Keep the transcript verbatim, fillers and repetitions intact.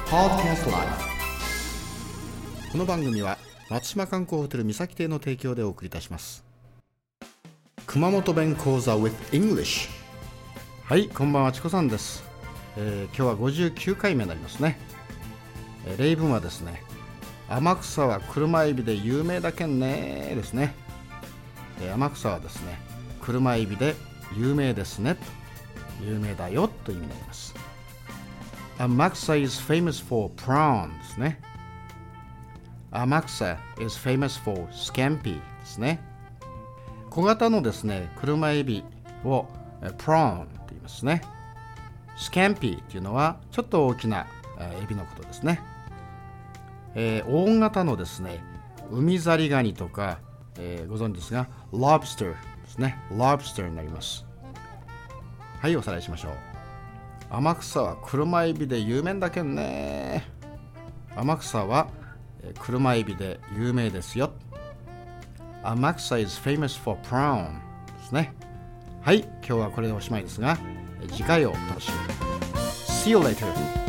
Podcast Life。 この番組は松島観光ホテル三崎邸の提供でお送りいたします。熊本弁講座 with English。 はい、こんばんは、チコさんです。えー、今日はごじゅうきゅうかいめになりますね。えー、例文はですね、天草は車エビで有名だけんねですね。えー、天草はですね、車エビで有名ですね、有名だよという意味になります。天草 is famous for prawn ですね。天草 is famous for scampi ですね。小型のですね、車エビを prawn と言いますね。scampi というのはちょっと大きなエビのことですね。えー、大型のですね、海ザリガニとか、えー、ご存知ですが lobster ですね。 lobster になります。はい、おさらいしましょう。天草は車エビで有名だけんね。天草は車エビで有名ですよ。天草 is famous for prawn ですね。はい、今日はこれでおしまいですが、次回をお楽しみに。See you later.